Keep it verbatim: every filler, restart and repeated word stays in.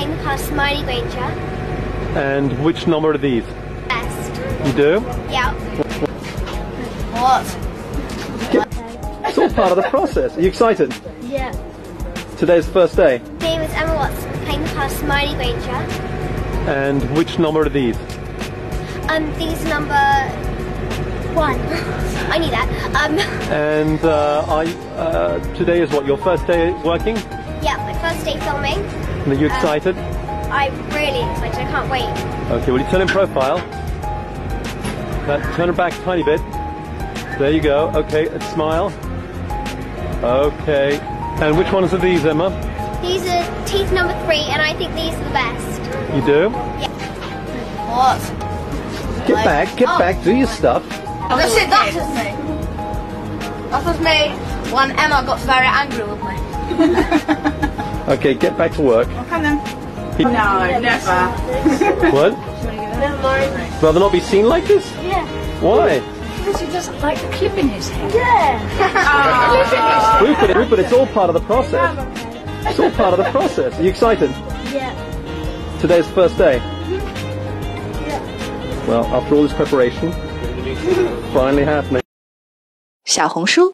Playing the past Smiley Granger. And which number are these? Best. You do? Yeah. What? It's all part of the process. Are you excited? Yeah. Today's the first day. My name is Emma Watson. Playing the past Smiley Granger. And which number are these? Um, these number one. I knew that. Um. And uh, I, uh, today is what, your first day working? Yeah, my first day filming. Are you excited? Um, I'm really excited. I can't wait. Okay, well you turn in profile. That, turn it back a tiny bit. There you go. Okay, and smile. Okay. And which ones are these, Emma? These are teeth number three, and I think these are the best. You do? Yeah. What? Get back, get Oh. back, do your stuff. That's it, that was me. That was me when Emma got very angry with me. Okay, get back to work. Come then. He- No, never. What? Never mind. Rather not be seen like this? Yeah. Why? Because he doesn't like the clip in his hair. Yeah. Rupert, Rupert, it's all part of the process. It's all part of the process. Are you excited? Yeah. Today's the first day. Yeah. Well, after all this preparation, finally happening. 小红书